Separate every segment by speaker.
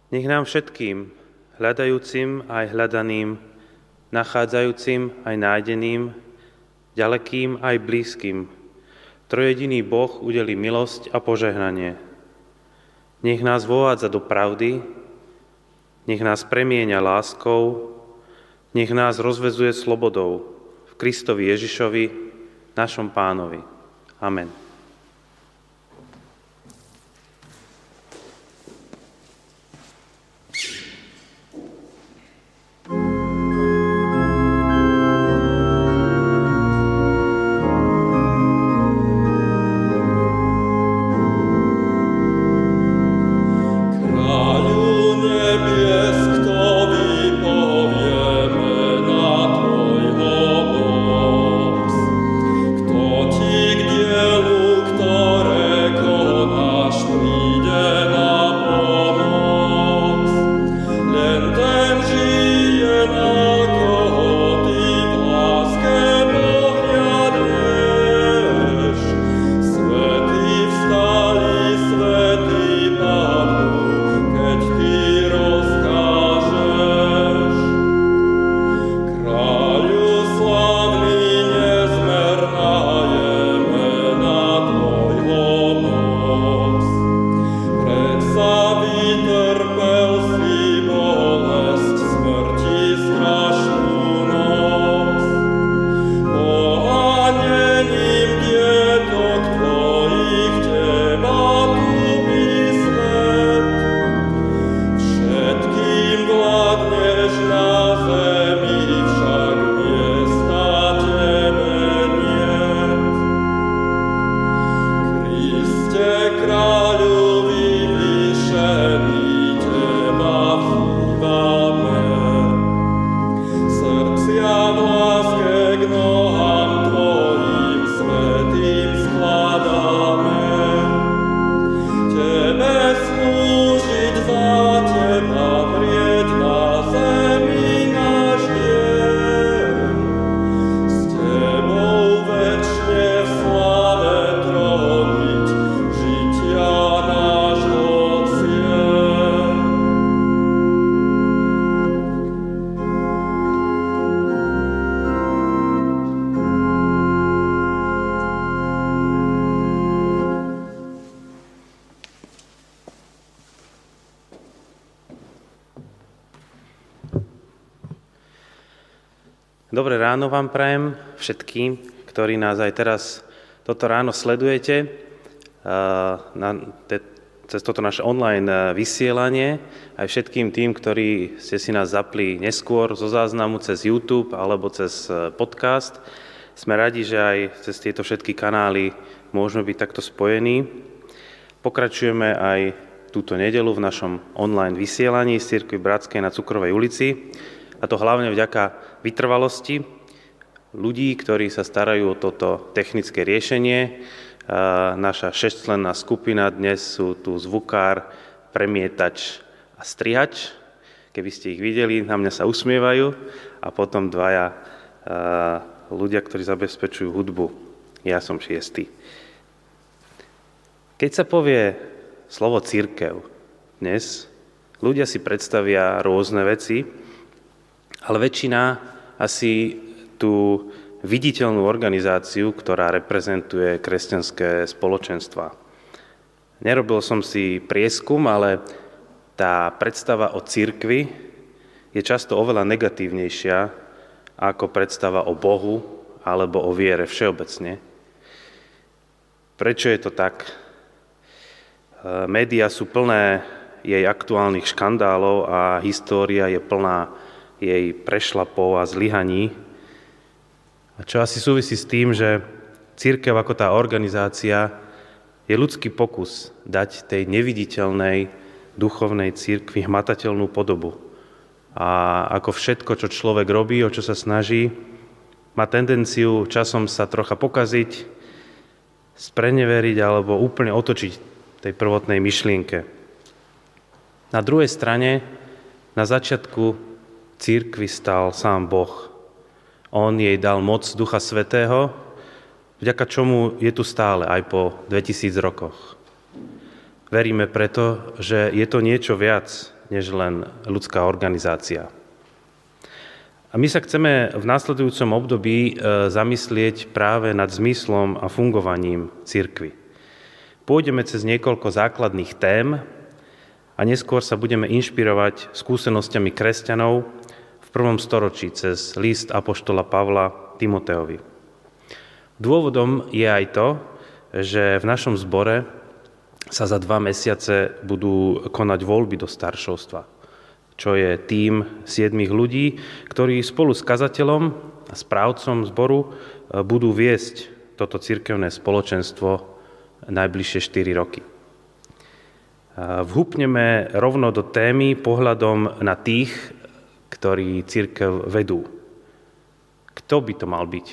Speaker 1: Nech nám všetkým, hľadajúcim aj hľadaným, nachádzajúcim aj nájdeným, ďalekým aj blízkym, trojediný Boh udelí milosť a požehnanie. Nech nás vovádza do pravdy, nech nás premieňa láskou, nech nás rozvezuje slobodou v Kristovi Ježišovi, našom Pánovi. Amen. Dobré ráno vám prajem všetkým, ktorí nás aj teraz toto ráno sledujete cez toto naše online vysielanie, aj všetkým tým, ktorí ste si nás zapli neskôr zo záznamu cez YouTube alebo cez podcast. Sme radi, že aj cez tieto všetky kanály môžeme byť takto spojení. Pokračujeme aj túto nedeľu v našom online vysielaní z Cirkvi Bratskej na Cukrovej ulici, a to hlavne vďaka vytrvalosti ľudí, ktorí sa starajú o toto technické riešenie. Naša 6-členná skupina, dnes sú tu zvukár, premietač a strihač. Keby ste ich videli, na mňa sa usmievajú. A potom dvaja ľudia, ktorí zabezpečujú hudbu. Ja som 6. Keď sa povie slovo cirkev dnes, ľudia si predstavia rôzne veci, ale väčšina asi tú viditeľnú organizáciu, ktorá reprezentuje kresťanské spoločenstva. Nerobil som si prieskum, ale tá predstava o cirkvi je často oveľa negatívnejšia ako predstava o Bohu alebo o viere všeobecne. Prečo je to tak? Média sú plné jej aktuálnych škandálov a história je plná jej prešlapov a zlyhaní. A čo asi súvisí s tým, že cirkev ako tá organizácia je ľudský pokus dať tej neviditeľnej duchovnej cirkvi hmatateľnú podobu. A ako všetko, čo človek robí, o čo sa snaží, má tendenciu časom sa trocha pokaziť, spreneveriť alebo úplne otočiť tej prvotnej myšlienke. Na druhej strane, na začiatku cirkvi stal sám Boh. On jej dal moc Ducha Svätého, vďaka čomu je tu stále aj po 2000 rokoch. Veríme preto, že je to niečo viac než len ľudská organizácia. A my sa chceme v následujúcom období zamyslieť práve nad zmyslom a fungovaním cirkvi. Pôjdeme cez niekoľko základných tém a neskôr sa budeme inšpirovať skúsenosťami kresťanov v 1. storočí cez list apoštola Pavla Timoteovi. Dôvodom je aj to, že v našom zbore sa za 2 mesiace budú konať voľby do staršovstva, čo je tím 7 ľudí, ktorí spolu s kazateľom a správcom zboru budú viesť toto cirkevné spoločenstvo najbližšie 4 roky. Vhupneme rovno do témy pohľadom na tých, ktorí cirkev vedú. Kto by to mal byť?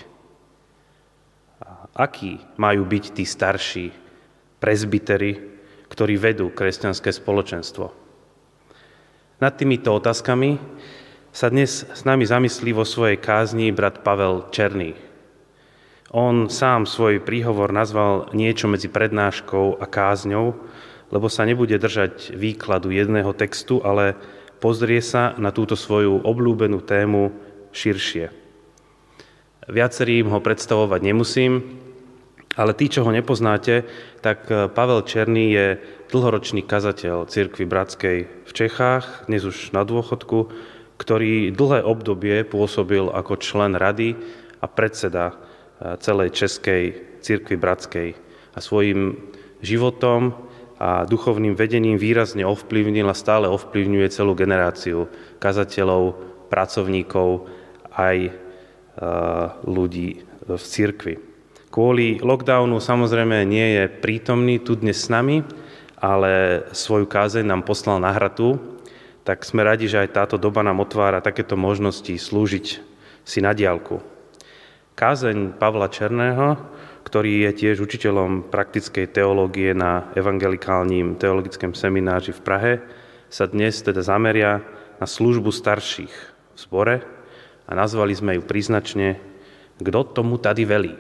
Speaker 1: Akí majú byť tí starší presbyteri, ktorí vedú kresťanské spoločenstvo? Nad týmito otázkami sa dnes s nami zamyslí vo svojej kázni brat Pavel Černý. On sám svoj príhovor nazval niečo medzi prednáškou a kázňou, lebo sa nebude držať výkladu jedného textu, ale pozrie sa na túto svoju obľúbenú tému širšie. Viacerým ho predstavovať nemusím, ale tí, čo ho nepoznáte, tak Pavel Černý je dlhoročný kazateľ Cirkvi Bratskej v Čechách, dnes už na dôchodku, ktorý dlhé obdobie pôsobil ako člen rady a predseda celej Českej Cirkvi Bratskej a svojim životom a duchovným vedením výrazne ovplyvnil a stále ovplyvňuje celú generáciu kazateľov, pracovníkov aj ľudí v cirkvi. Kvôli lockdownu samozrejme nie je prítomný tu dnes s nami, ale svoju kázeň nám poslal na Hratu, tak sme radi, že aj táto doba nám otvára takéto možnosti slúžiť si na diaľku. Kázeň Pavla Černého, ktorý je tiež učiteľom praktickej teológie na evangelikálnym teologickom semináři v Prahe, sa dnes teda zameria na službu starších v zbore a nazvali sme ju príznačne Kto tomu tady velí?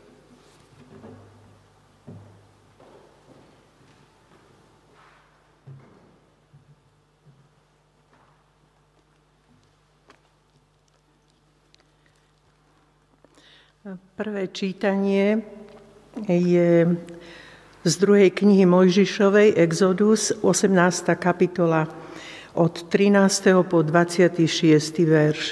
Speaker 2: Prvé čítanie je z 2. knihy Mojžišovej, Exodus, 18. kapitola, od 13. po 26. verš.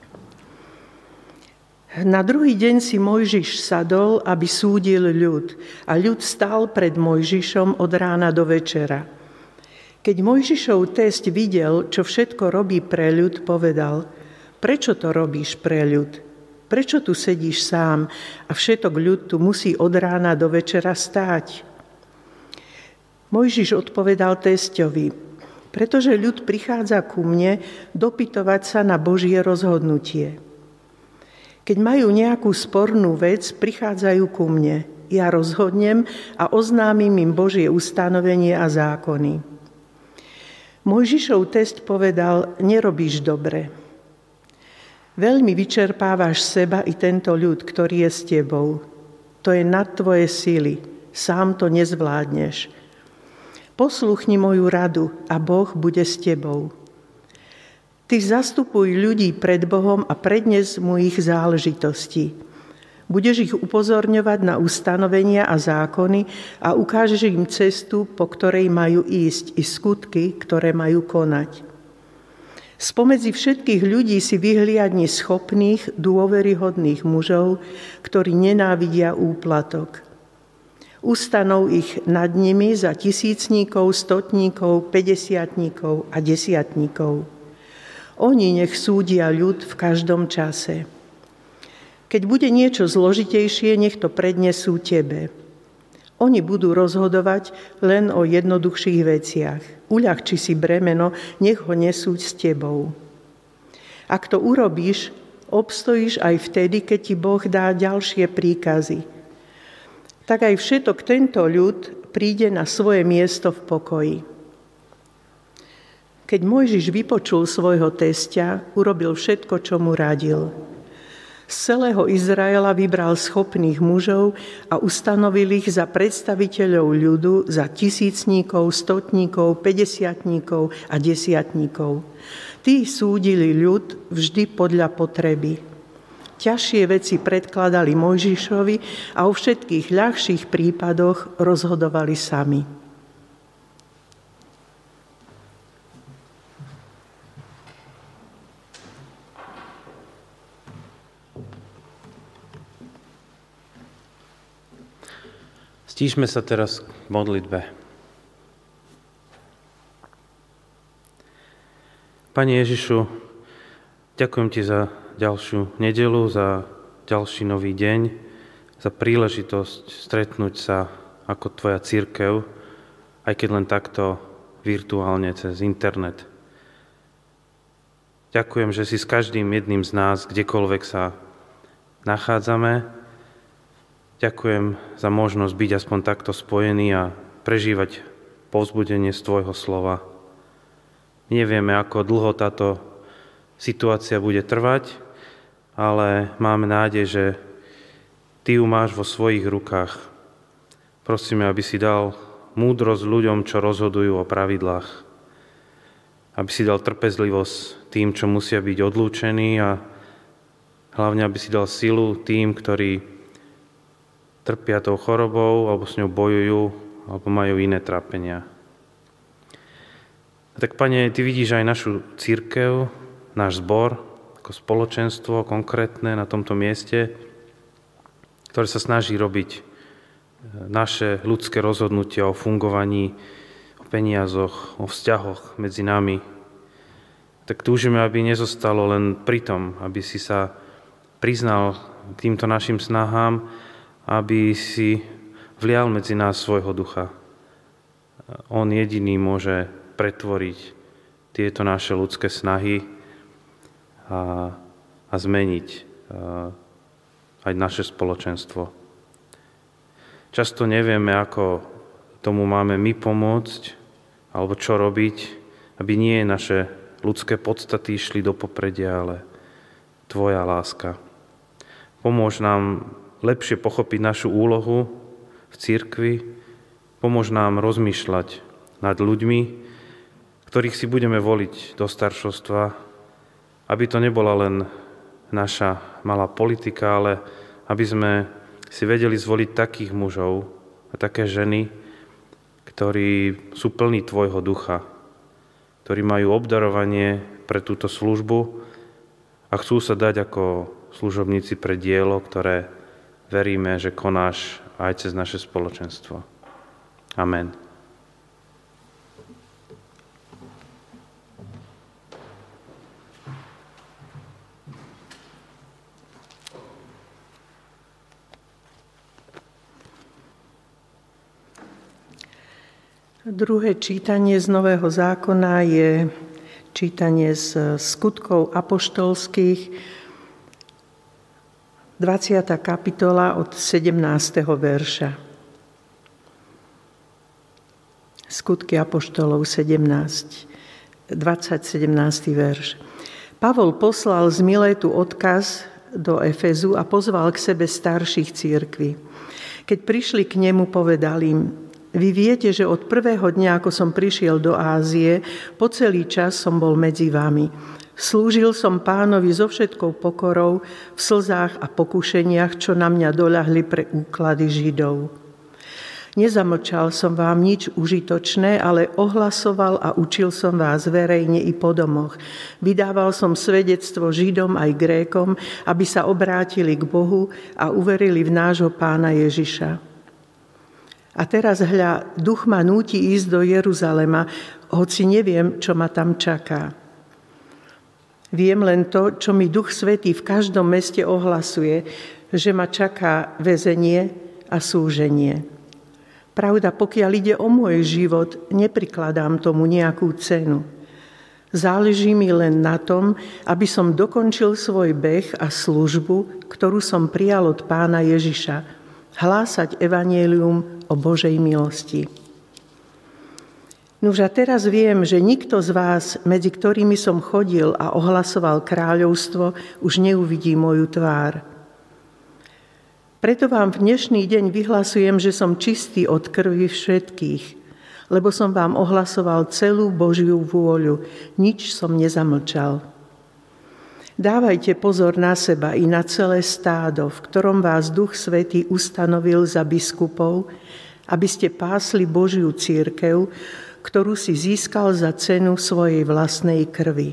Speaker 2: Na druhý deň si Mojžiš sadol, aby súdil ľud, a ľud stál pred Mojžišom od rána do večera. Keď Mojžišov test videl, čo všetko robí pre ľud, povedal: Prečo to robíš pre ľud? Prečo tu sedíš sám a všetok ľud tu musí od rána do večera stáť? Mojžiš odpovedal testovi: Pretože ľud prichádza ku mne dopytovať sa na Božie rozhodnutie. Keď majú nejakú spornú vec, prichádzajú ku mne. Ja rozhodnem a oznámim im Božie ustanovenie a zákony. Mojžišov test povedal: Nerobíš dobre. Veľmi vyčerpávaš seba i tento ľud, ktorý je s tebou. To je nad tvoje sily. Sám to nezvládneš. Posluchni moju radu a Boh bude s tebou. Ty zastupuj ľudí pred Bohom a prednes mu ich záležitosti. Budeš ich upozorňovať na ustanovenia a zákony a ukážeš im cestu, po ktorej majú ísť, i skutky, ktoré majú konať. Spomedzi všetkých ľudí si vyhliadni schopných, dôveryhodných mužov, ktorí nenávidia úplatok. Ustanov ich nad nimi za tisícníkov, stotníkov, päťdesiatníkov a desiatníkov. Oni nech súdia ľud v každom čase. Keď bude niečo zložitejšie, nech to prednesú tebe. Oni budú rozhodovať len o jednoduchších veciach. Uľahči si bremeno, nech ho nesú s tebou. Ak to urobíš, obstojíš aj vtedy, keď ti Boh dá ďalšie príkazy. Tak aj všetok tento ľud príde na svoje miesto v pokoji. Keď Mojžiš vypočul svojho testia, urobil všetko, čo mu radil. Z celého Izraela vybral schopných mužov a ustanovil ich za predstaviteľov ľudu, za tisícníkov, stotníkov, päťdesiatníkov a desiatníkov. Tí súdili ľud vždy podľa potreby. Ťažšie veci predkladali Mojžišovi a o všetkých ľahších prípadoch rozhodovali sami.
Speaker 1: Stíšme sa teraz k modlitbe. Pane Ježišu, ďakujem Ti za ďalšiu nedeľu, za ďalší nový deň, za príležitosť stretnúť sa ako Tvoja cirkev, aj keď len takto virtuálne cez internet. Ďakujem, že si s každým jedným z nás, kdekoľvek sa nachádzame, ďakujem za možnosť byť aspoň takto spojený a prežívať povzbudenie z Tvojho slova. Nevieme, ako dlho táto situácia bude trvať, ale máme nádej, že Ty ju máš vo svojich rukách. Prosíme, aby si dal múdrosť ľuďom, čo rozhodujú o pravidlách. Aby si dal trpezlivosť tým, čo musia byť odlúčení a hlavne, aby si dal silu tým, ktorí trpia tou chorobou alebo s ňou bojujú alebo majú iné trápenia. A tak, Pane, Ty vidíš aj našu cirkev, náš zbor, ako spoločenstvo konkrétne na tomto mieste, ktoré sa snaží robiť naše ľudské rozhodnutia o fungovaní, o peniazoch, o vzťahoch medzi nami. Tak túžime, aby nezostalo len pri tom, aby si sa priznal k týmto našim snahám, aby si vlial medzi nás svojho ducha. On jediný môže pretvoriť tieto naše ľudské snahy a zmeniť aj naše spoločenstvo. Často nevieme, ako tomu máme my pomôcť, alebo čo robiť, aby nie naše ľudské podstaty išli do popredia, ale Tvoja láska. Pomôž nám lepšie pochopiť našu úlohu v cirkvi, pomôž nám rozmýšľať nad ľuďmi, ktorých si budeme voliť do staršovstva, aby to nebola len naša malá politika, ale aby sme si vedeli zvoliť takých mužov a také ženy, ktorí sú plní Tvojho ducha, ktorí majú obdarovanie pre túto službu a chcú sa dať ako služobníci pre dielo, ktoré veríme, že konáš aj cez naše spoločenstvo. Amen.
Speaker 2: Druhé čítanie z Nového zákona je čítanie z Skutkov apoštolských, 20. kapitola od 17. verša. Skutky apoštolov 17. verš. Pavol poslal z Milétu odkaz do Efezu a pozval k sebe starších cirkví. Keď prišli k nemu, povedal im: Vy viete, že od prvého dňa, ako som prišiel do Ázie, po celý čas som bol medzi vami. Slúžil som Pánovi so všetkou pokorou, v slzách a pokušeniach, čo na mňa doľahli pre úklady Židov. Nezamlčal som vám nič užitočné, ale ohlasoval a učil som vás verejne i po domoch. Vydával som svedectvo Židom aj Grékom, aby sa obrátili k Bohu a uverili v nášho Pána Ježiša. A teraz hľa, duch ma núti ísť do Jeruzalema, hoci neviem, čo ma tam čaká. Viem len to, čo mi Duch Svätý v každom meste ohlasuje, že ma čaká väzenie a súženie. Pravda, pokiaľ ide o môj život, neprikladám tomu nejakú cenu. Záleží mi len na tom, aby som dokončil svoj beh a službu, ktorú som prijal od Pána Ježiša, hlásať evanjelium o Božej milosti. Nuž a teraz viem, že nikto z vás, medzi ktorými som chodil a ohlasoval kráľovstvo, už neuvidí moju tvár. Preto vám v dnešný deň vyhlasujem, že som čistý od krvi všetkých, lebo som vám ohlasoval celú Božiu vôľu, nič som nezamlčal. Dávajte pozor na seba i na celé stádo, v ktorom vás Duch Svätý ustanovil za biskupov, aby ste pásli Božiu cirkev, ktorú si získal za cenu svojej vlastnej krvi.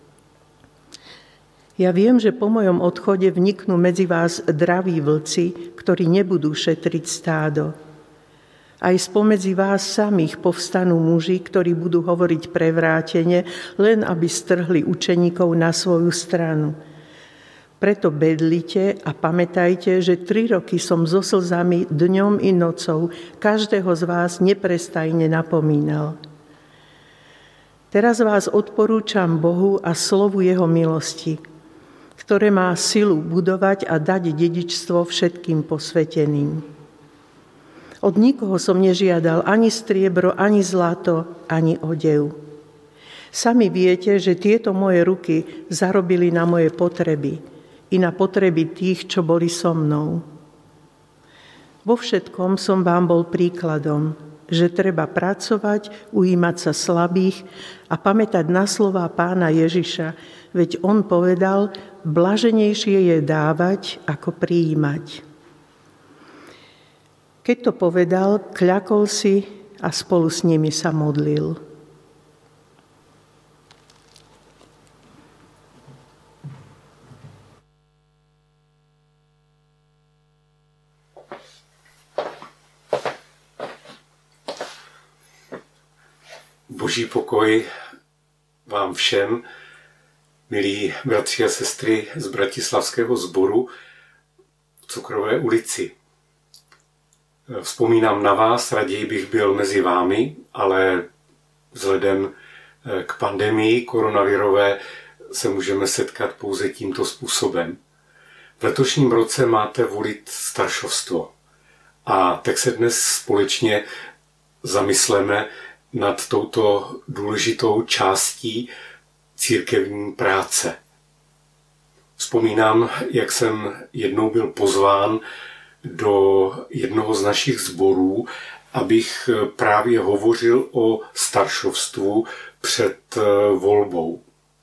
Speaker 2: Ja viem, že po mojom odchode vniknú medzi vás draví vlci, ktorí nebudú šetriť stádo. Aj spomedzi vás samých povstanú muži, ktorí budú hovoriť prevrátene, len aby strhli učeníkov na svoju stranu. Preto bedlite a pamätajte, že 3 roky som so slzami dňom i nocou každého z vás neprestajne napomínal. Teraz vás odporúčam Bohu a slovu jeho milosti, ktoré má silu budovať a dať dedičstvo všetkým posveteným. Od nikoho som nežiadal ani striebro, ani zlato, ani odev. Sami viete, že tieto moje ruky zarobili na moje potreby i na potreby tých, čo boli so mnou. Vo všetkom som vám bol príkladom, že treba pracovať, ujímať sa slabých a pamätať na slová Pána Ježiša, veď on povedal, blaženejšie je dávať, ako prijímať. Keď to povedal, kľakol si a spolu s nimi sa modlil.
Speaker 3: Boží pokoj vám všem, milí bratři a sestry z Bratislavského sboru v Cukrové ulici. Vzpomínám na vás, raději bych byl mezi vámi, ale vzhledem k pandemii koronavirové se můžeme setkat pouze tímto způsobem. V letošním roce máte volit staršovstvo. A tak se dnes společně zamysleme nad touto důležitou částí církevní práce. Vzpomínám, jak jsem jednou byl pozván do jednoho z našich sborů, abych právě hovořil o staršovstvu před volbou.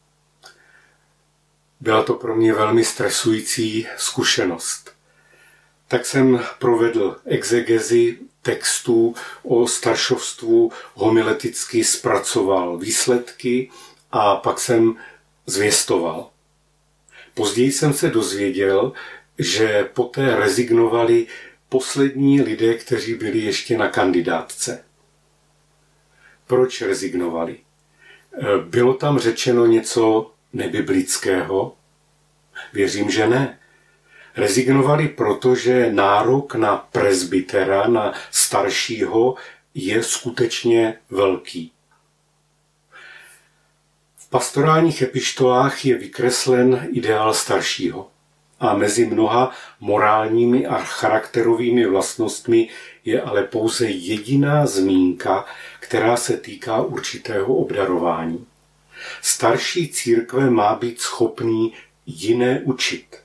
Speaker 3: Byla to pro mě velmi stresující zkušenost. Tak jsem provedl exegezi textů o staršovstvu, homileticky zpracoval výsledky a pak jsem zvěstoval. Později jsem se dozvěděl, že poté rezignovali poslední lidé, kteří byli ještě na kandidátce. Proč rezignovali? Bylo tam řečeno něco nebiblického? Věřím, že ne. Rezignovali proto, že nárok na presbytera, na staršího, je skutečně velký. V pastorálních epištolách je vykreslen ideál staršího. A mezi mnoha morálními a charakterovými vlastnostmi je ale pouze jediná zmínka, která se týká určitého obdarování. Starší církve má být schopný jiné učit.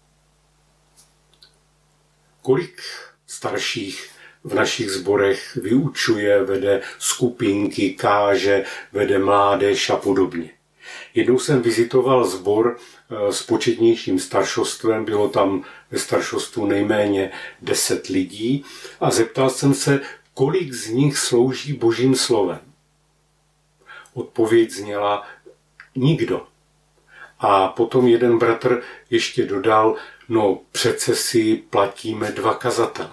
Speaker 3: Kolik starších v našich sborech vyučuje, vede skupinky, káže, vede mládež a podobně. Jednou jsem vizitoval sbor s početnějším staršostvem, bylo tam ve staršostvu nejméně 10 lidí a zeptal jsem se, kolik z nich slouží Božím slovem. Odpověď zněla nikdo. A potom jeden bratr ještě dodal, no přece si platíme 2 kazatele.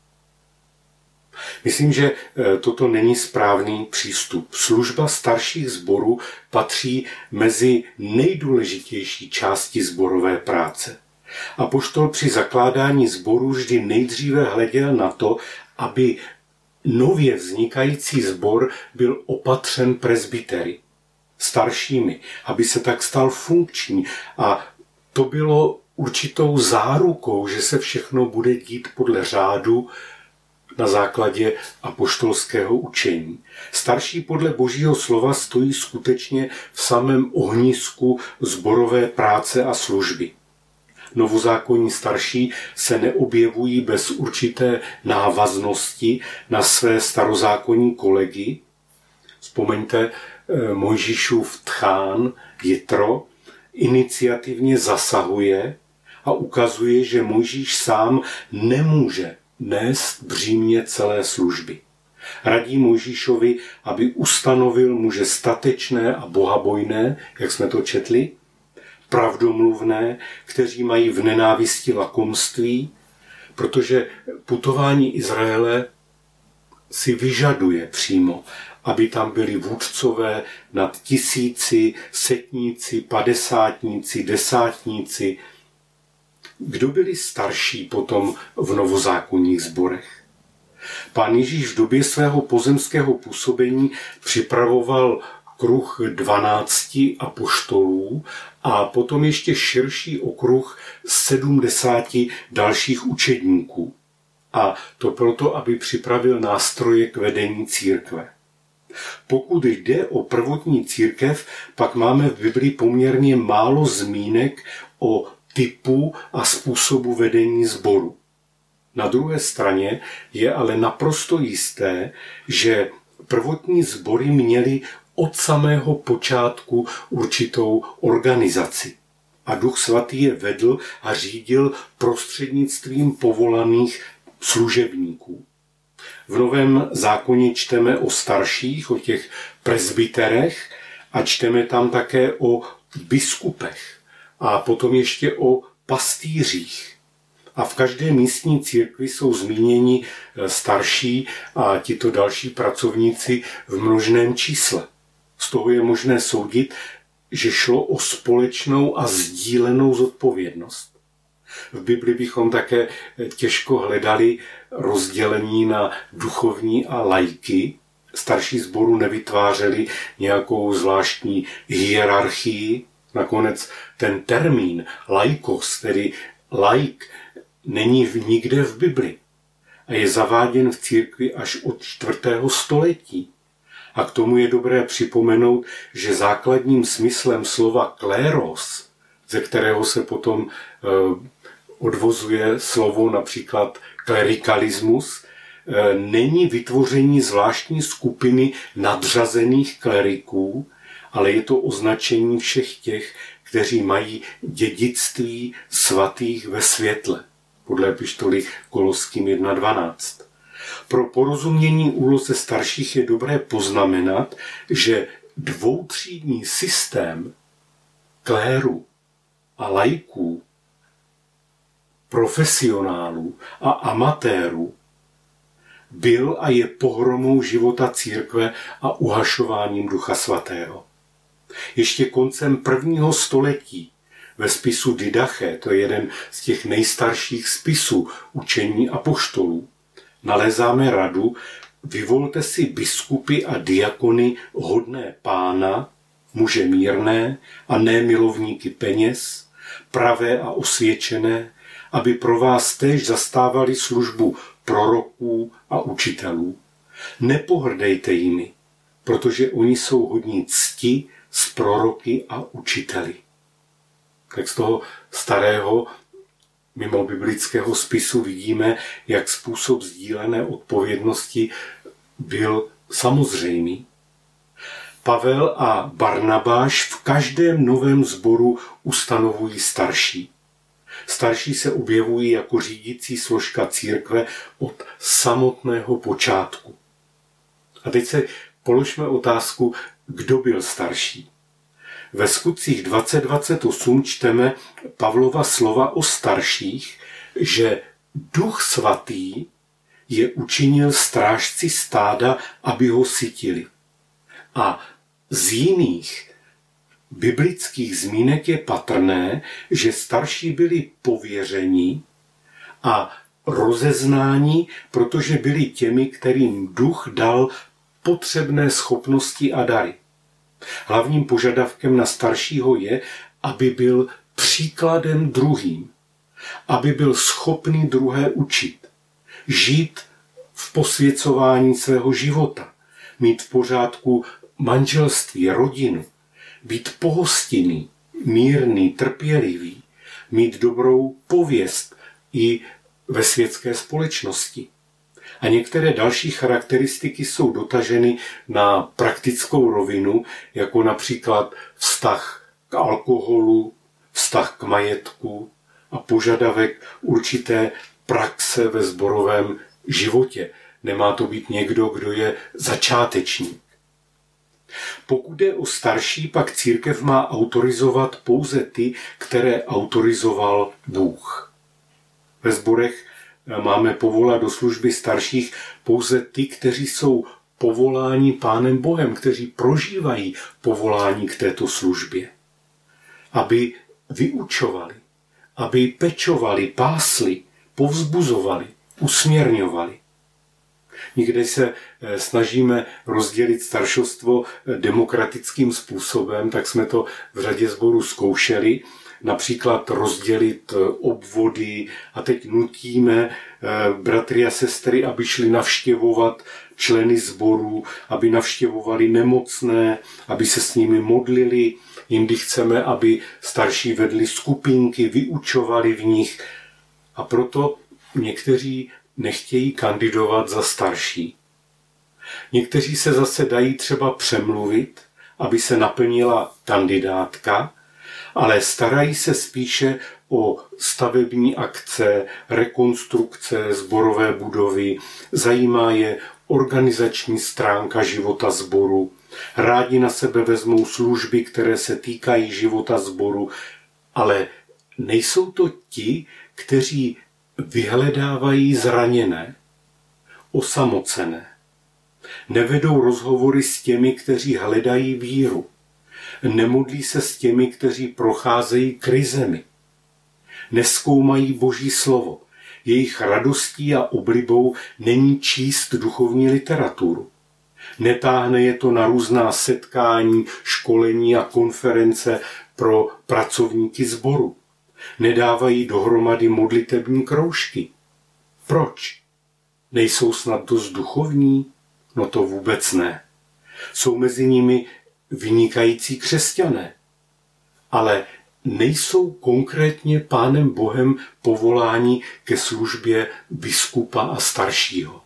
Speaker 3: Myslím, že toto není správný přístup. Služba starších sborů patří mezi nejdůležitější části sborové práce. Apoštol při zakládání sborů vždy nejdříve hleděl na to, aby nově vznikající sbor byl opatřen presbytery, staršími, aby se tak stal funkční. A to bylo určitou zárukou, že se všechno bude dít podle řádu na základě apoštolského učení. Starší podle Božího slova stojí skutečně v samém ohnisku sborové práce a služby. Novozákonní starší se neobjevují bez určité návaznosti na své starozákonní kolegy. Vzpomeňte Mojžíšův tchán Jitro iniciativně zasahuje a ukazuje, že Mojžíš sám nemůže nést břímě celé služby. Radí Mojžíšovi, aby ustanovil muže statečné a bohabojné, jak jsme to četli, pravdomluvné, kteří mají v nenávisti lakomství, protože putování Izraele si vyžaduje přímo, aby tam byli vůdcové nad 1000, setníci, padesátníci, desátníci. Kdo byli starší potom v novozákonních sborech? Pán Ježíš v době svého pozemského působení připravoval kruh 12 apoštolů a potom ještě širší okruh 70 dalších učedníků. A to proto, aby připravil nástroje k vedení církve. Pokud jde o prvotní církev, pak máme v Biblii poměrně málo zmínek o typu a způsobu vedení sboru. Na druhé straně je ale naprosto jisté, že prvotní sbory měly od samého počátku určitou organizaci. A Duch Svatý je vedl a řídil prostřednictvím povolaných služebníků. V Novém zákoně čteme o starších, o těch presbyterech a čteme tam také o biskupech a potom ještě o pastýřích. A v každé místní církvi jsou zmíněni starší a tito další pracovníci v množném čísle. Z toho je možné soudit, že šlo o společnou a sdílenou zodpovědnost. V Bibli bychom také těžko hledali rozdělení na duchovní a laiky. Starší sboru nevytvářeli nějakou zvláštní hierarchii. Nakonec ten termín laikos, tedy laik, není nikde v Bibli a je zaváděn v církvi až od 4. století. A k tomu je dobré připomenout, že základním smyslem slova kléros, ze kterého se potom odvozuje slovo například klerikalismus, není vytvoření zvláštní skupiny nadřazených kleriků, ale je to označení všech těch, kteří mají dědictví svatých ve světle, podle epištoly Koloským 1.12. Pro porozumění úloze starších je dobré poznamenat, že dvoutřídní systém kléru a laiků, profesionálů a amatérů byl a je pohromou života církve a uhašováním Ducha Svatého. Ještě koncem 1. století ve spisu Didache, to je jeden z těch nejstarších spisů učení apoštolů, nalezáme radu: vyvolte si biskupy a diakony hodné Pána, muže mírné a ne milovníky peněz, pravé a osvědčené, aby pro vás též zastávali službu proroků a učitelů. Nepohrdejte jimi, protože oni jsou hodní cti s proroky a učiteli. Tak z toho starého mimo biblického spisu vidíme, jak způsob sdílené odpovědnosti byl samozřejmý. Pavel a Barnabáš v každém novém sboru ustanovují starší. Starší se objevují jako řídící složka církve od samotného počátku. A teď se položme otázku, kdo byl starší. Ve Skutcích 20:28 čteme Pavlova slova o starších, že Duch Svatý je učinil strážci stáda, aby ho sytili. A z jiných biblických zmínek je patrné, že starší byli pověřeni a rozeznáni, protože byli těmi, kterým Duch dal potřebné schopnosti a dary. Hlavním požadavkem na staršího je, aby byl příkladem druhým, aby byl schopný druhé učit, žít v posvěcování svého života, mít v pořádku manželství, rodinu, být pohostinný, mírný, trpělivý, mít dobrou pověst i ve světské společnosti. A některé další charakteristiky jsou dotaženy na praktickou rovinu, jako například vztah k alkoholu, vztah k majetku a požadavek určité praxe ve sborovém životě. Nemá to být někdo, kdo je začátečník. Pokud jde o starší, pak církev má autorizovat pouze ty, které autorizoval Bůh. Ve sborech máme povolat do služby starších pouze ty, kteří jsou povoláni Pánem Bohem, kteří prožívají povolání k této službě. Aby vyučovali, aby pečovali, pásli, povzbuzovali, usměrňovali. Někde se snažíme rozdělit staršovstvo demokratickým způsobem, tak jsme to v řadě sborů zkoušeli, například rozdělit obvody a teď nutíme bratry a sestry, aby šli navštěvovat členy sborů, aby navštěvovali nemocné, aby se s nimi modlili. Jindy chceme, aby starší vedli skupinky, vyučovali v nich. A proto někteří nechtějí kandidovat za starší. Někteří se zase dají třeba přemluvit, aby se naplnila kandidátka, ale starají se spíše o stavební akce, rekonstrukce sborové budovy, zajímá je organizační stránka života sboru, rádi na sebe vezmou služby, které se týkají života sboru, ale nejsou to ti, kteří vyhledávají zraněné, osamocené. Nevedou rozhovory s těmi, kteří hledají víru. Nemodlí se s těmi, kteří procházejí krizemi. Nezkoumají Boží slovo. Jejich radostí a oblibou není číst duchovní literaturu. Netáhne je to na různá setkání, školení a konference pro pracovníky sboru. Nedávají dohromady modlitební kroužky. Proč? Nejsou snad dost duchovní? No to vůbec ne. Jsou mezi nimi vynikající křesťané, ale nejsou konkrétně Pánem Bohem povoláni ke službě biskupa a staršího.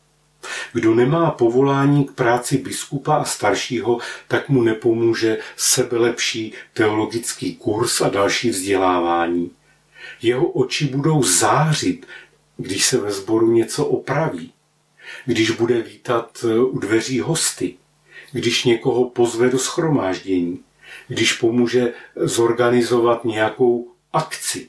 Speaker 3: Kdo nemá povolání k práci biskupa a staršího, tak mu nepomůže sebelepší teologický kurz a další vzdělávání. Jeho oči budou zářit, když se ve sboru něco opraví, když bude vítat u dveří hosty, když někoho pozve do shromáždění, když pomůže zorganizovat nějakou akci.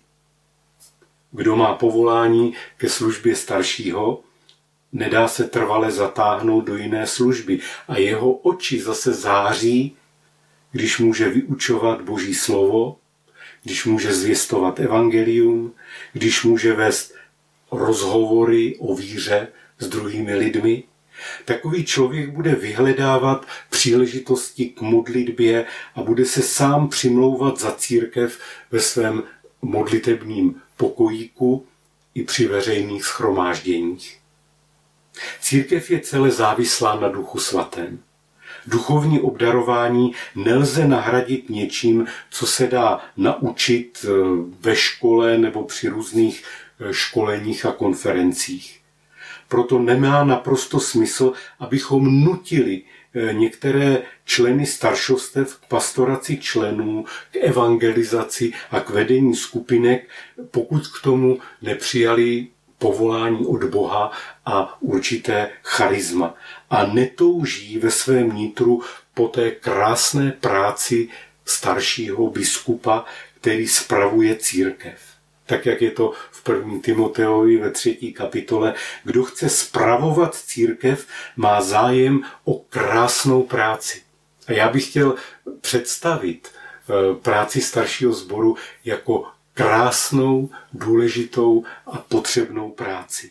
Speaker 3: Kdo má povolání ke službě staršího, nedá se trvale zatáhnout do jiné služby a jeho oči zase září, když může vyučovat Boží slovo, když může zvěstovat evangelium, když může vést rozhovory o víře s druhými lidmi. Takový člověk bude vyhledávat příležitosti k modlitbě a bude se sám přimlouvat za církev ve svém modlitebním pokojíku i při veřejných shromážděních. Církev je celé závislá na Duchu svatém. Duchovní obdarování nelze nahradit něčím, co se dá naučit ve škole nebo při různých školeních a konferencích. Proto nemá naprosto smysl, abychom nutili některé členy staršovstev k pastoraci členů, k evangelizaci a k vedení skupinek, pokud k tomu nepřijali povolání od Boha a určité charisma. A netouží ve svém nitru po té krásné práci staršího biskupa, který spravuje církev. Tak, jak je to v 1. Timoteovi ve 3. kapitole. Kdo chce spravovat církev, má zájem o krásnou práci. A já bych chtěl představit práci staršího sboru jako krásnou, důležitou a potřebnou práci.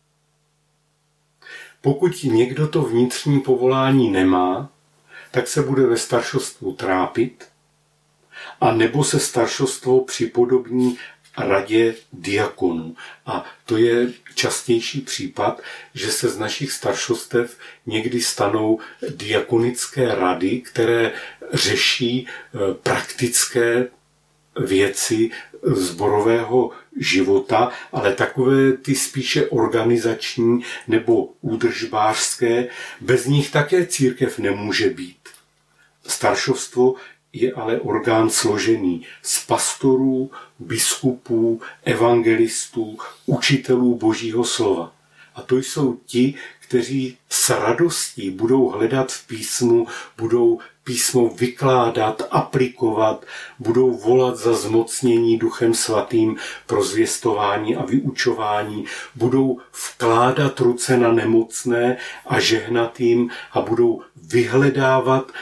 Speaker 3: Pokud někdo to vnitřní povolání nemá, tak se bude ve staršostvu trápit, a nebo se staršostvo připodobní radě diakonů. A to je častější případ, že se z našich staršostev někdy stanou diakonické rady, které řeší praktické věci sborového života, ale takové ty spíše organizační nebo údržbářské, bez nich také církev nemůže být. Staršovstvo je ale orgán složený z pastorů, biskupů, evangelistů, učitelů Božího slova. A to jsou ti, kteří s radostí budou hledat v písmu, budou písmo vykládat, aplikovat, budou volat za zmocnění Duchem Svatým pro zvěstování a vyučování, budou vkládat ruce na nemocné a žehnat jim a budou vyhledávat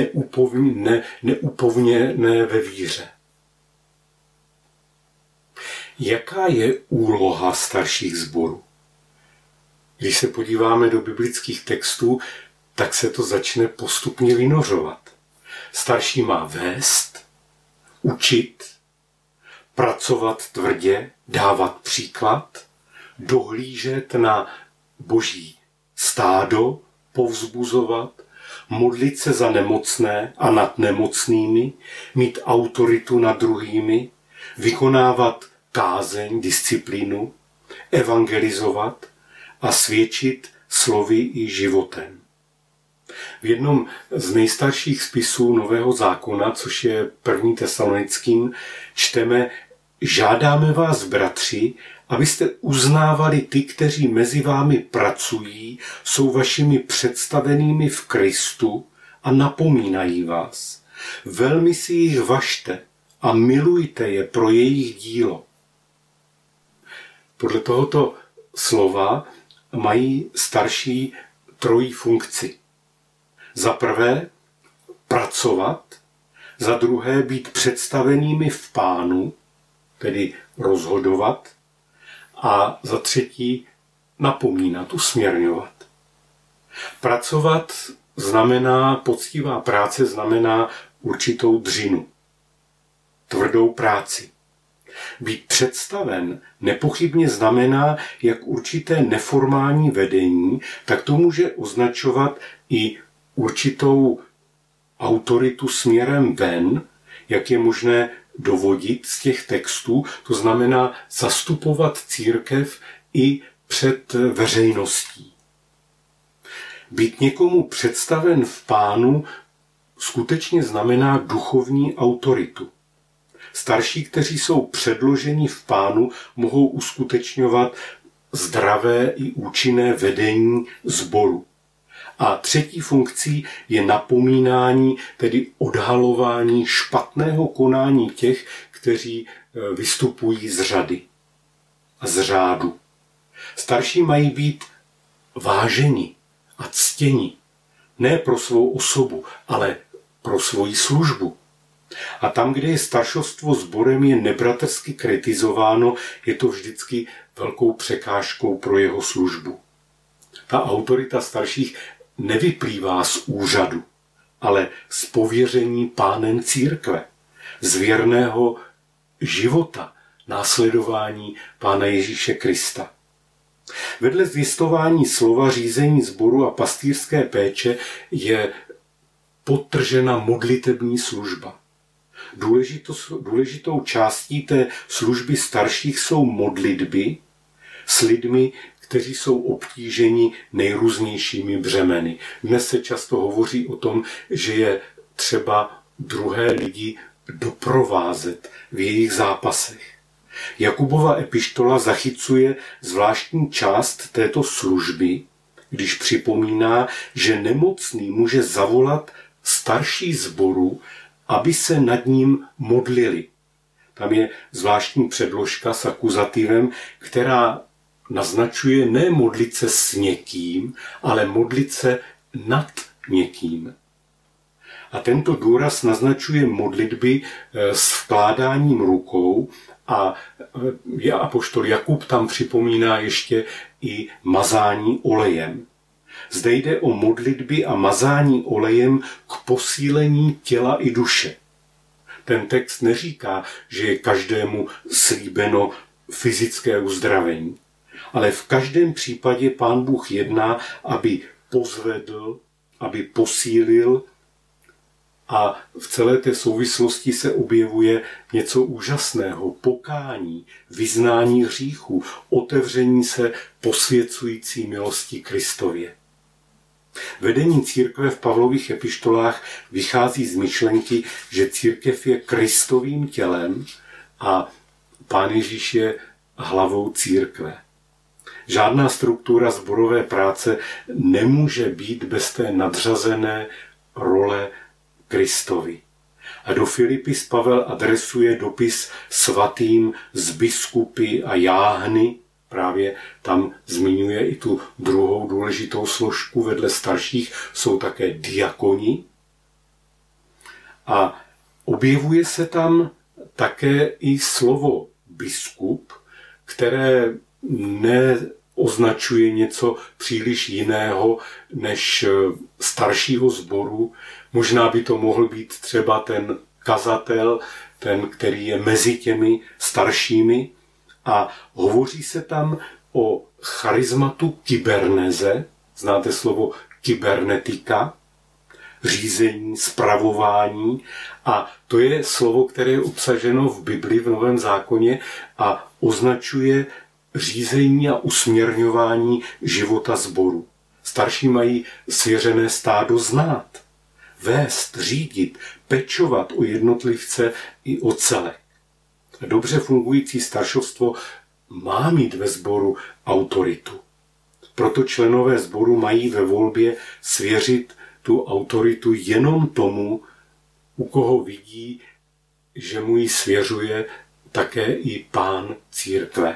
Speaker 3: neupovněné ve víře. Jaká je úloha starších sborů? Když se podíváme do biblických textů, tak se to začne postupně vynořovat. Starší má vést, učit, pracovat tvrdě, dávat příklad, dohlížet na Boží stádo, povzbuzovat, modlit se za nemocné a nad nemocnými, mít autoritu nad druhými, vykonávat kázeň, disciplínu, evangelizovat a svědčit slovy i životem. V jednom z nejstarších spisů Nového zákona, což je 1. Tesalonickým, čteme: žádáme vás, bratři, abyste uznávali ty, kteří mezi vámi pracují, jsou vašimi představenými v Kristu a napomínají vás. Velmi si jich važte a milujte je pro jejich dílo. Podle tohoto slova mají starší trojí funkci. Za prvé pracovat, za druhé být představenými v Pánu, tedy rozhodovat, a za třetí napomínat, usměrňovat. Pracovat znamená, poctivá práce znamená určitou dřinu, tvrdou práci. Být představen nepochybně znamená jak určité neformální vedení, tak to může označovat i určitou autoritu směrem ven, jak je možné dovodit z těch textů, to znamená zastupovat církev i před veřejností. Být někomu představen v Pánu skutečně znamená duchovní autoritu. Starší, kteří jsou předloženi v Pánu, mohou uskutečňovat zdravé i účinné vedení sboru. A třetí funkcí je napomínání, tedy odhalování špatného konání těch, kteří vystupují z řady a z řádu. Starší mají být váženi a ctěni, ne pro svou osobu, ale pro svoji službu. A tam, kde je staršovstvo sborem je nebratrsky kritizováno, je to vždycky velkou překážkou pro jeho službu. Ta autorita starších nevyplývá z úřadu, ale z pověření Pánem církve, z věrného života, následování Pána Ježíše Krista. Vedle zvěstování slova, řízení sboru a pastýřské péče je podtržena modlitební služba. Důležitou částí té služby starších jsou modlitby s lidmi, kteří jsou obtíženi nejrůznějšími břemeny. Dnes se často hovoří o tom, že je třeba druhé lidi doprovázet v jejich zápasech. Jakubova epištola zachycuje zvláštní část této služby, když připomíná, že nemocný může zavolat starší sboru, aby se nad ním modlili. Tam je zvláštní předložka s akuzativem, která naznačuje ne modlit se s někým, ale modlit se nad někým. A tento důraz naznačuje modlitby s vkládáním rukou a apoštol Jakub tam připomíná ještě i mazání olejem. Zde jde o modlitby a mazání olejem k posílení těla i duše. Ten text neříká, že je každému slíbeno fyzické uzdravení, ale v každém případě Pán Bůh jedná, aby pozvedl, aby posílil, a v celé té souvislosti se objevuje něco úžasného. Pokání, vyznání hříchů, otevření se posvěcující milosti Kristově. Vedení církve v Pavlových epištolách vychází z myšlenky, že církev je Kristovým tělem a Pán Ježíš je hlavou církve. Žádná struktura sborové práce nemůže být bez té nadřazené role Kristovi. A do Filipis Pavel adresuje dopis svatým z biskupy a jáhny. Právě tam zmiňuje i tu druhou důležitou složku. Vedle starších jsou také diakoni. A objevuje se tam také i slovo biskup, které neoznačuje něco příliš jiného než staršího sboru. Možná by to mohl být třeba ten kazatel, ten, který je mezi těmi staršími. A hovoří se tam o charizmatu kyberneze. Znáte slovo kybernetika? Řízení, spravování. A to je slovo, které je obsaženo v Bibli, v Novém zákoně a označuje řízení a usměrňování života sboru. Starší mají svěřené stádo znát, vést, řídit, pečovat o jednotlivce i o celek. Dobře fungující staršovstvo má mít ve sboru autoritu. Proto členové sboru mají ve volbě svěřit tu autoritu jenom tomu, u koho vidí, že mu ji svěřuje také i Pán církve.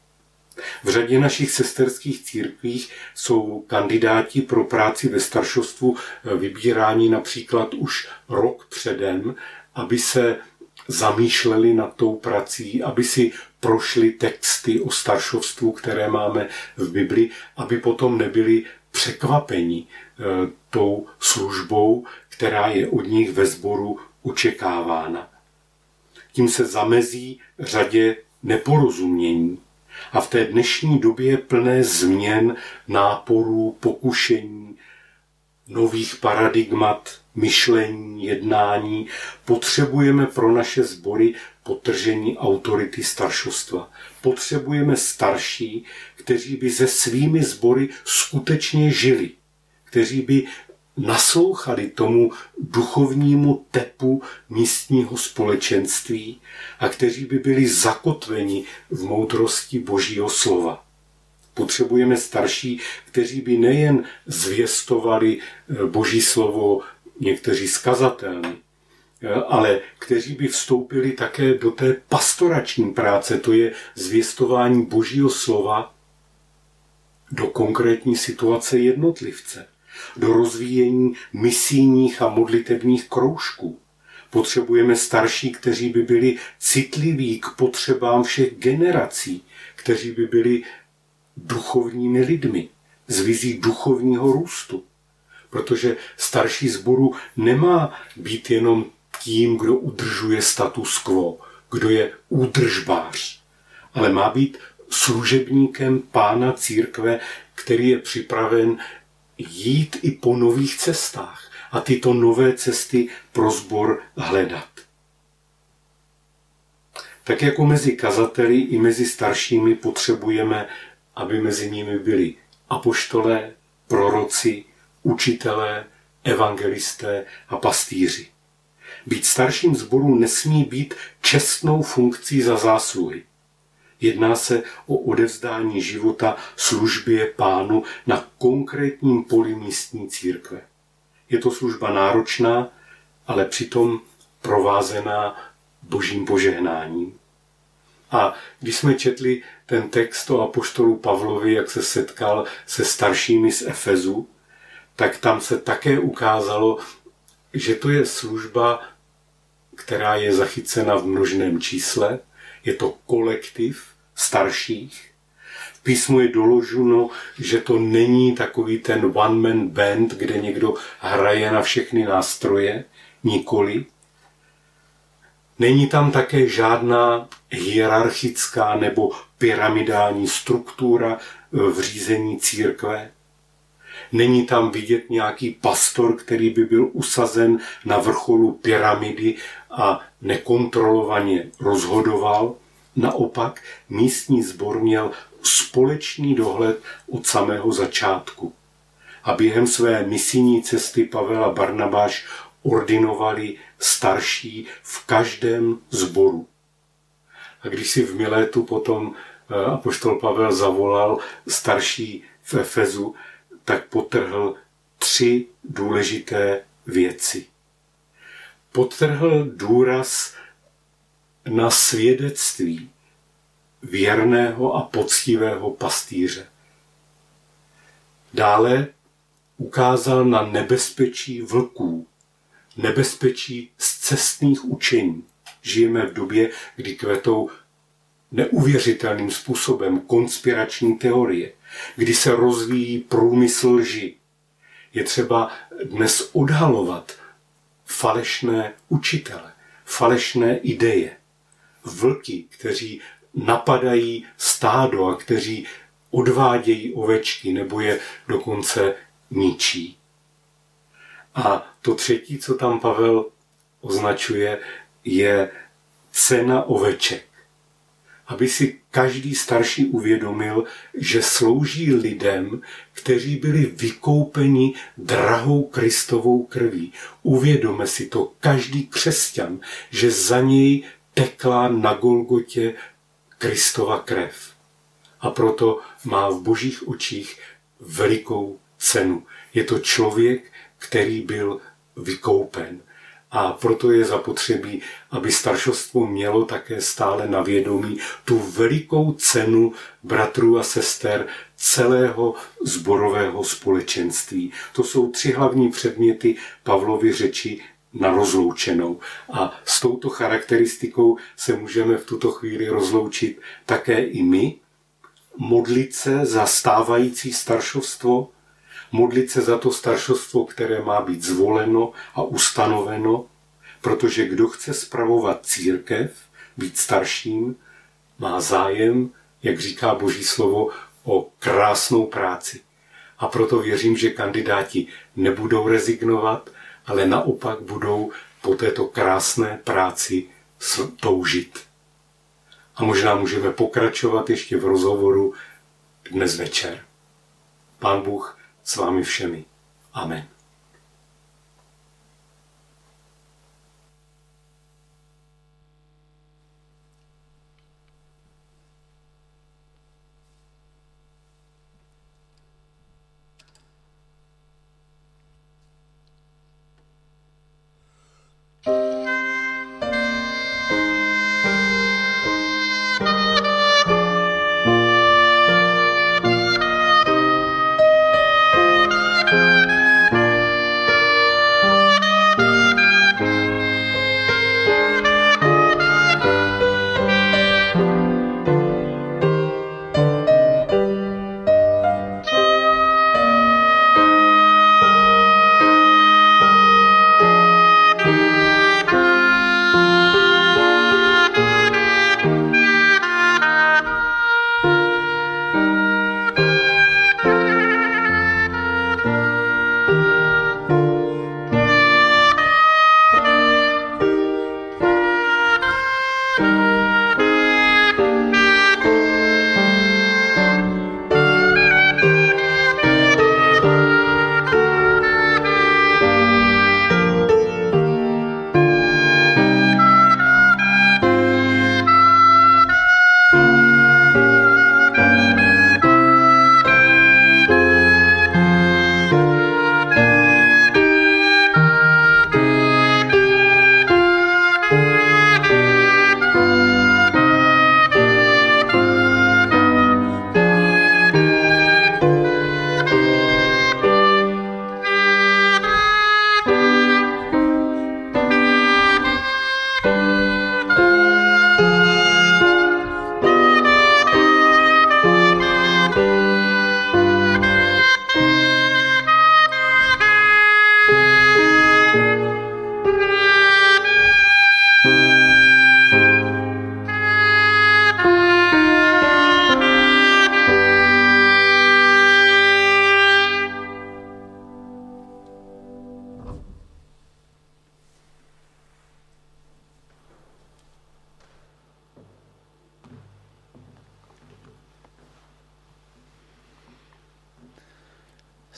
Speaker 3: V řadě našich sesterských církvích jsou kandidáti pro práci ve staršovstvu vybíráni například už rok předem, aby se zamýšleli nad tou prací, aby si prošli texty o staršovstvu, které máme v Bibli, aby potom nebyli překvapeni tou službou, která je od nich ve sboru očekávána. Tím se zamezí řadě neporozumění. A v té dnešní době plné změn, náporů, pokušení, nových paradigmat, myšlení, jednání, potřebujeme pro naše sbory podtržení autority staršovstva. Potřebujeme starší, kteří by se svými sbory skutečně žili, kteří by naslouchali tomu duchovnímu tepu místního společenství a kteří by byli zakotveni v moudrosti Božího slova. Potřebujeme starší, kteří by nejen zvěstovali Boží slovo někteří skazatelní, ale kteří by vstoupili také do té pastorační práce, to je zvěstování Božího slova do konkrétní situace jednotlivce, do rozvíjení misijních a modlitebních kroužků. Potřebujeme starší, kteří by byli citliví k potřebám všech generací, kteří by byli duchovními lidmi, s vizí duchovního růstu. Protože starší sboru nemá být jenom tím, kdo udržuje status quo, kdo je údržbář, ale má být služebníkem Pána církve, který je připraven jít i po nových cestách a tyto nové cesty pro sbor hledat. Tak jako mezi kazateli i mezi staršími potřebujeme, aby mezi nimi byli apoštolé, proroci, učitelé, evangelisté a pastýři. Být starším sboru nesmí být čestnou funkcí za zásluhy. Jedná se o odevzdání života službě Pánu na konkrétním poli místní církve. Je to služba náročná, ale přitom provázená Božím požehnáním. A když jsme četli ten text o apoštolu Pavlovi, jak se setkal se staršími z Efezu, tak tam se také ukázalo, že to je služba, která je zachycena v množném čísle. Je to kolektiv starších. V písmu je doloženo, že to není takový ten one-man band, kde někdo hraje na všechny nástroje, nikoli. Není tam také žádná hierarchická nebo pyramidální struktura v řízení církve. Není tam vidět nějaký pastor, který by byl usazen na vrcholu pyramidy a nekontrolovaně rozhodoval. Naopak místní sbor měl společný dohled od samého začátku. A během své misijní cesty Pavel a Barnabáš ordinovali starší v každém sboru. A když si v Milétu potom apoštol Pavel zavolal starší v Efezu, tak podtrhl 3 důležité věci. Podtrhl důraz na svědectví věrného a poctivého pastýře. Dále ukázal na nebezpečí vlků, nebezpečí scestných učení. Žijeme v době, kdy kvetou neuvěřitelným způsobem konspirační teorie, kdy se rozvíjí průmysl lži. Je třeba dnes odhalovat falešné učitele, falešné ideje, vlky, kteří napadají stádo a kteří odvádějí ovečky nebo je dokonce ničí. A to třetí, co tam Pavel označuje, je cena oveček. Aby si každý starší uvědomil, že slouží lidem, kteří byli vykoupeni drahou Kristovou krví. Uvědome si to každý křesťan, že za něj tekla na Golgotě Kristova krev. A proto má v božích očích velikou cenu. Je to člověk, který byl vykoupen. A proto je zapotřebí, aby staršovstvo mělo také stále na vědomí tu velikou cenu bratrů a sester celého sborového společenství. To jsou 3 hlavní předměty Pavlovy řeči na rozloučenou. A s touto charakteristikou se můžeme v tuto chvíli rozloučit také i my. Modlit se za stávající staršovstvo, modlit se za to staršovstvo, které má být zvoleno a ustanoveno, protože kdo chce spravovat církev, být starším, má zájem, jak říká Boží slovo, o krásnou práci. A proto věřím, že kandidáti nebudou rezignovat, ale naopak budou po této krásné práci toužit. A možná můžeme pokračovat ještě v rozhovoru dnes večer. Pán Bůh s vámi všemi. Amen.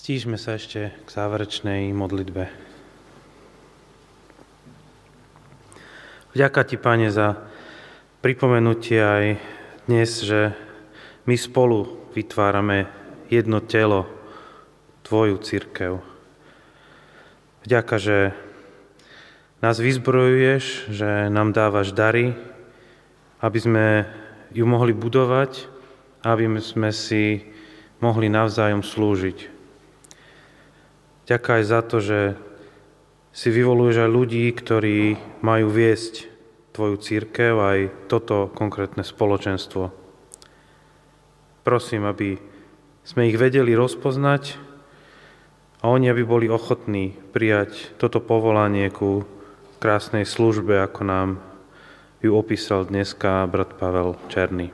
Speaker 1: Stížme sa ešte k záverečnej modlitbe. Vďaka Ti, Pane, za pripomenutie aj dnes, že my spolu vytvárame jedno telo, Tvoju cirkev. Vďaka, že nás vyzbrojuješ, že nám dávaš dary, aby sme ju mohli budovať, aby sme si mohli navzájom slúžiť. Ďakujem aj za to, že si vyvoluješ aj ľudí, ktorí majú viesť Tvoju cirkev, aj toto konkrétne spoločenstvo. Prosím, aby sme ich vedeli rozpoznať a oni, aby boli ochotní prijať toto povolanie ku krásnej službe, ako nám ju opísal dneska brat Pavel Černý.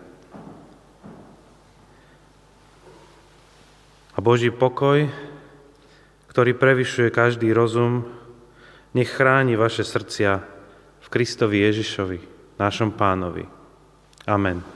Speaker 1: A Boží pokoj, ktorý prevyšuje každý rozum, nech chráni vaše srdcia v Kristovi Ježišovi, našom Pánovi. Amen.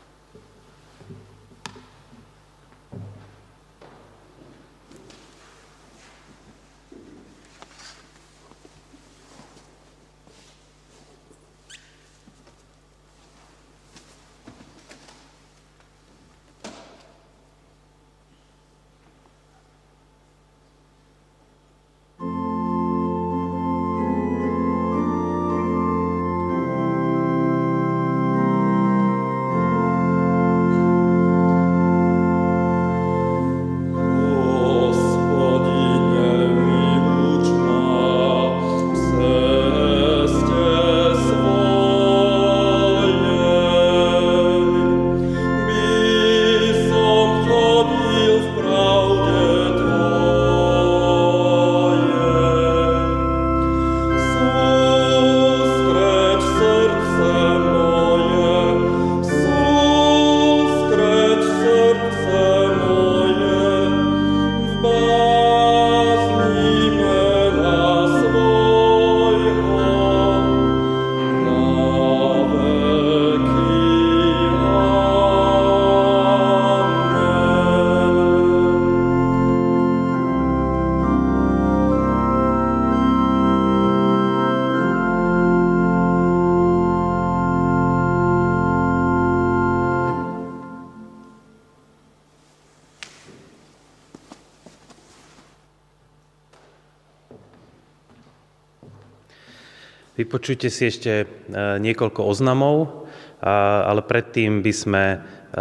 Speaker 1: Vypočujte si ešte niekoľko oznamov, ale predtým by sme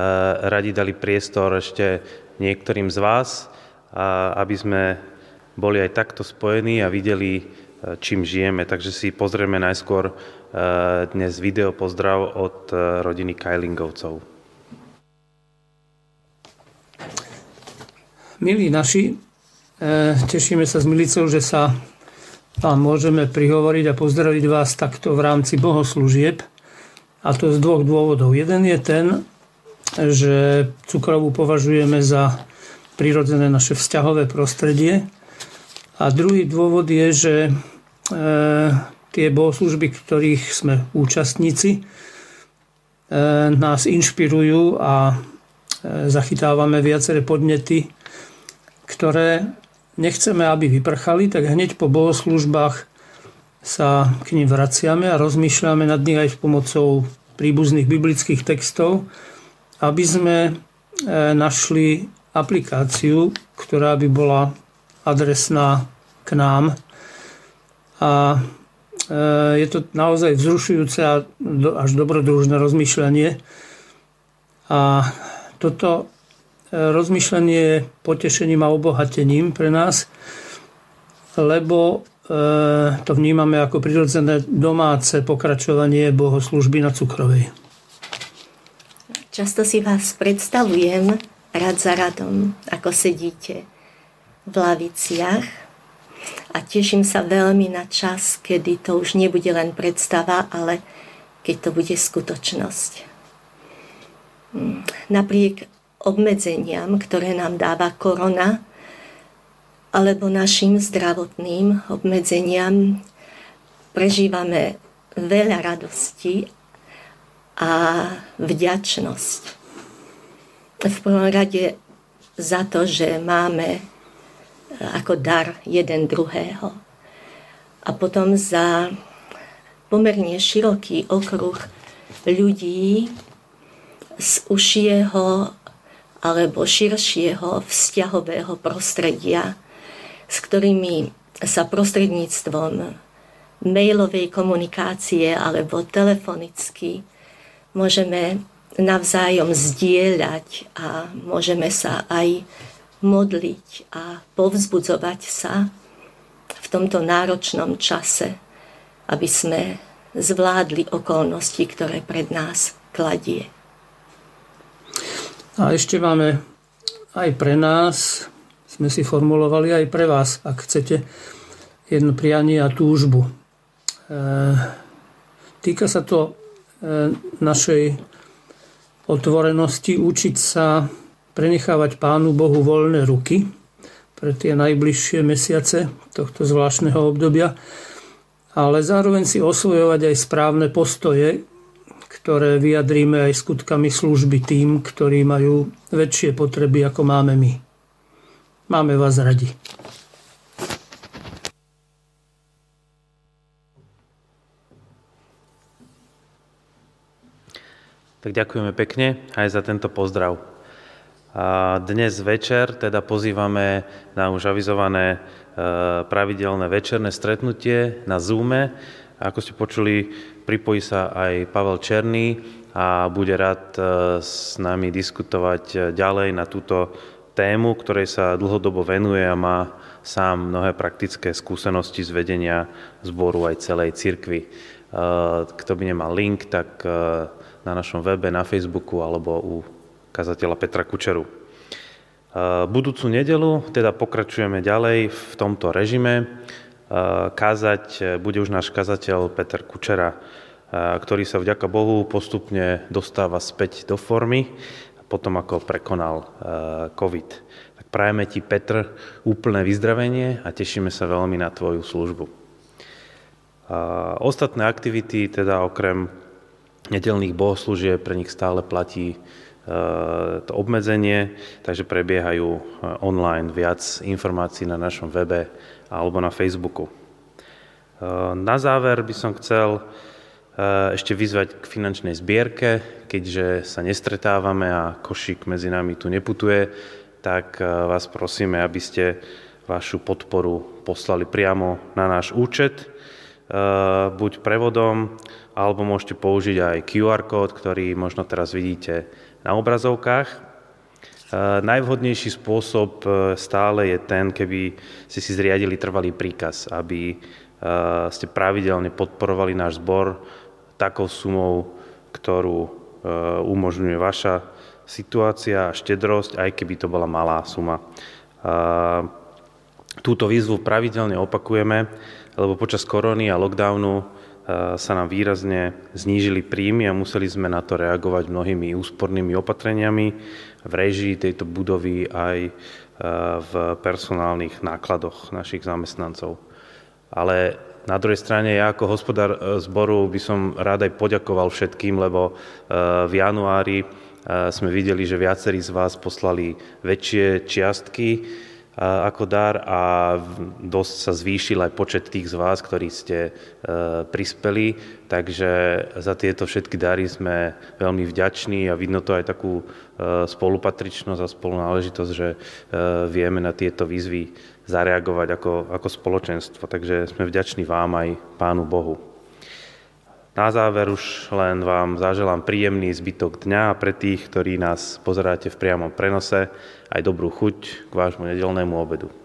Speaker 1: radi dali priestor ešte niektorým z vás, aby sme boli aj takto spojení a videli, čím žijeme. Takže si pozrieme najskôr dnes video pozdrav od rodiny Kajlingovcov.
Speaker 4: Milí naši, tešíme sa s Milicou, že sa vám môžeme prihovoriť a pozdraviť vás takto v rámci bohoslúžieb. A to z dvoch dôvodov. Jeden je ten, že cukrovú považujeme za prirodzené naše vzťahové prostredie. A druhý dôvod je, že tie bohoslúžby, ktorých sme účastníci, nás inšpirujú a zachytávame viaceré podnety, ktoré nechceme, aby vyprchali, tak hneď po bohoslúžbách sa k nim vraciame a rozmýšľame nad nich aj s pomocou príbuzných biblických textov, aby sme našli aplikáciu, ktorá by bola adresná k nám. A je to naozaj vzrušujúce a až dobrodružné rozmýšľanie. A toto rozmýšľanie je potešením a obohatením pre nás, lebo to vnímame ako prirodzené domáce pokračovanie bohoslúžby na Cukrovej.
Speaker 5: Často si vás predstavujem rad za radom, ako sedíte v laviciach a teším sa veľmi na čas, kedy to už nebude len predstava, ale keď to bude skutočnosť. Napriek obmedzeniam, ktoré nám dáva korona, alebo našim zdravotným obmedzeniam, prežívame veľa radosti a vďačnosť. V prvom rade za to, že máme ako dar jeden druhého. A potom za pomerne široký okruh ľudí z užšieho alebo širšieho vzťahového prostredia, s ktorými sa prostredníctvom mailovej komunikácie alebo telefonicky môžeme navzájom zdieľať a môžeme sa aj modliť a povzbudzovať sa v tomto náročnom čase, aby sme zvládli okolnosti, ktoré pred nás kladie.
Speaker 4: A ešte máme aj pre nás, sme si formulovali aj pre vás, ak chcete, jedno prianie a túžbu. Týka sa to našej otvorenosti, učiť sa prenechávať Pánu Bohu voľné ruky pre tie najbližšie mesiace tohto zvláštneho obdobia, ale zároveň si osvojovať aj správne postoje, ktoré vyjadríme aj skutkami služby tým, ktorí majú väčšie potreby, ako máme my. Máme vás radi.
Speaker 1: Tak ďakujeme pekne aj za tento pozdrav. A dnes večer teda pozývame na už avizované pravidelné večerné stretnutie na Zoome. Ako ste počuli, pripojí sa aj Pavel Černý a bude rád s nami diskutovať ďalej na túto tému, ktorej sa dlhodobo venuje a má sám mnohé praktické skúsenosti z vedenia zboru aj celej cirkvi. Kto by nemal link, tak na našom webe, na Facebooku alebo u kazateľa Petra Kučeru. Budúcu nedeľu teda pokračujeme ďalej v tomto režime. Kázať bude už náš kazateľ Peter Kučera, ktorý sa vďaka Bohu postupne dostáva späť do formy, potom ako prekonal COVID. Tak prajeme ti, Petr, úplné vyzdravenie a tešíme sa veľmi na tvoju službu. Ostatné aktivity, teda okrem nedeľných bohoslúžieb, pre nich stále platí to obmedzenie, takže prebiehajú online, viac informácií na našom webe alebo na Facebooku. Na záver by som chcel ešte vyzvať k finančnej zbierke, keďže sa nestretávame a košík medzi nami tu neputuje, tak vás prosíme, aby ste vašu podporu poslali priamo na náš účet, buď prevodom, alebo môžete použiť aj QR kód, ktorý možno teraz vidíte na obrazovkách. Najvhodnejší spôsob stále je ten, keby ste si zriadili trvalý príkaz, aby ste pravidelne podporovali náš zbor takou sumou, ktorú umožňuje vaša situácia a štedrosť, aj keby to bola malá suma. Túto výzvu pravidelne opakujeme, lebo počas korony a lockdownu sa nám výrazne znížili príjmy a museli sme na to reagovať mnohými úspornými opatreniami v réžii tejto budovy aj v personálnych nákladoch našich zamestnancov. Ale na druhej strane ja ako hospodár zboru by som rád aj poďakoval všetkým, lebo v januári sme videli, že viacerí z vás poslali väčšie čiastky ako dar a dosť sa zvýšil aj počet tých z vás, ktorí ste prispeli, takže za tieto všetky dary sme veľmi vďační a vidno to aj takú spolupatričnosť a spolunáležitosť, že vieme na tieto výzvy zareagovať ako spoločenstvo, takže sme vďační vám aj Pánu Bohu. Na záver už len vám zaželám príjemný zbytok dňa a pre tých, ktorí nás pozeráte v priamom prenose, aj dobrú chuť k vášmu nedeľnému obedu.